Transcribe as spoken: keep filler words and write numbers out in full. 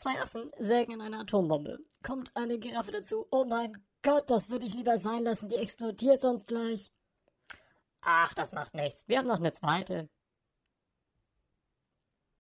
Zwei Affen sägen an einer Atombombe. Kommt eine Giraffe dazu. Oh mein Gott, das würde ich lieber sein lassen, die explodiert sonst gleich. Ach, das macht nichts. Wir haben noch eine zweite.